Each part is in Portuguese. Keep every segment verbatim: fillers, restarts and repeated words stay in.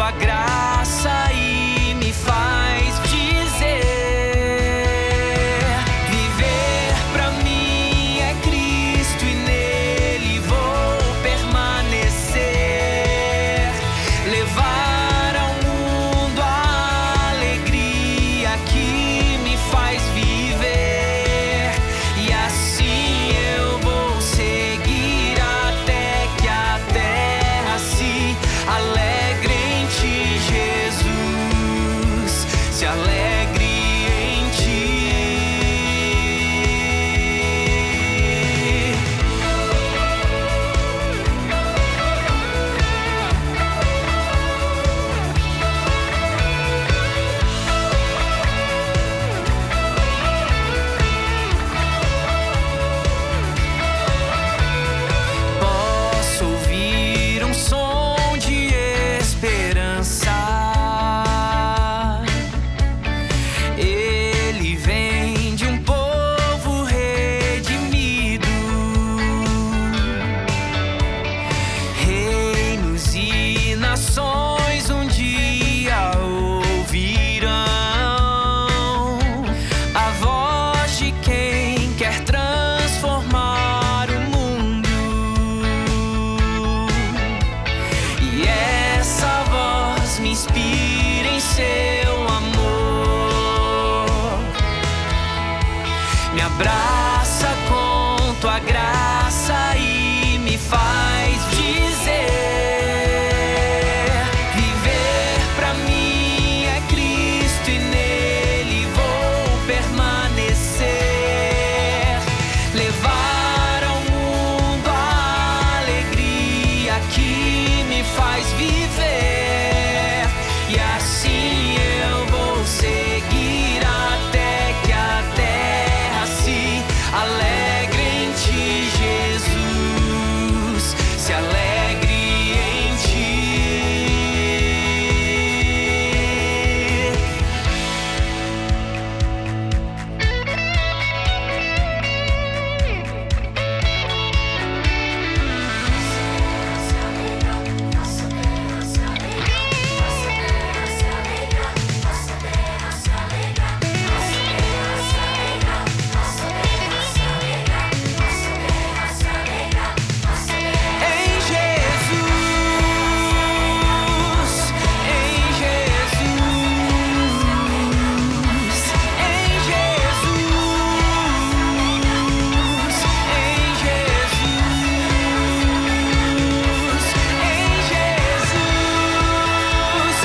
tua graça e me faz dizer: viver pra mim é Cristo e nele vou permanecer. Levar ao mundo a alegria que me faz viver, e assim eu vou seguir até que a terra se alegre em ti, Jesus, se alegre em ti. Posso ouvir um som de esperança. Ele vem de um povo redimido. Reinos e nações um dia ouvirão a voz de quem quer transformar o mundo. E essa voz me inspira em seu amor, me abraça com tua graça e me faz dizer: viver pra mim é Cristo e nele vou permanecer. Levar ao mundo a alegria que me faz viver, e assim eu vou seguir até que a terra se alegre em ti, Jesus, se alegre em ti. Em Jesus, em Jesus, em Jesus, em Jesus, em Jesus.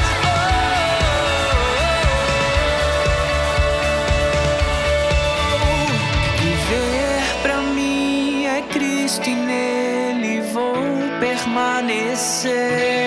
Viver pra mim é Cristo e nele vou permanecer.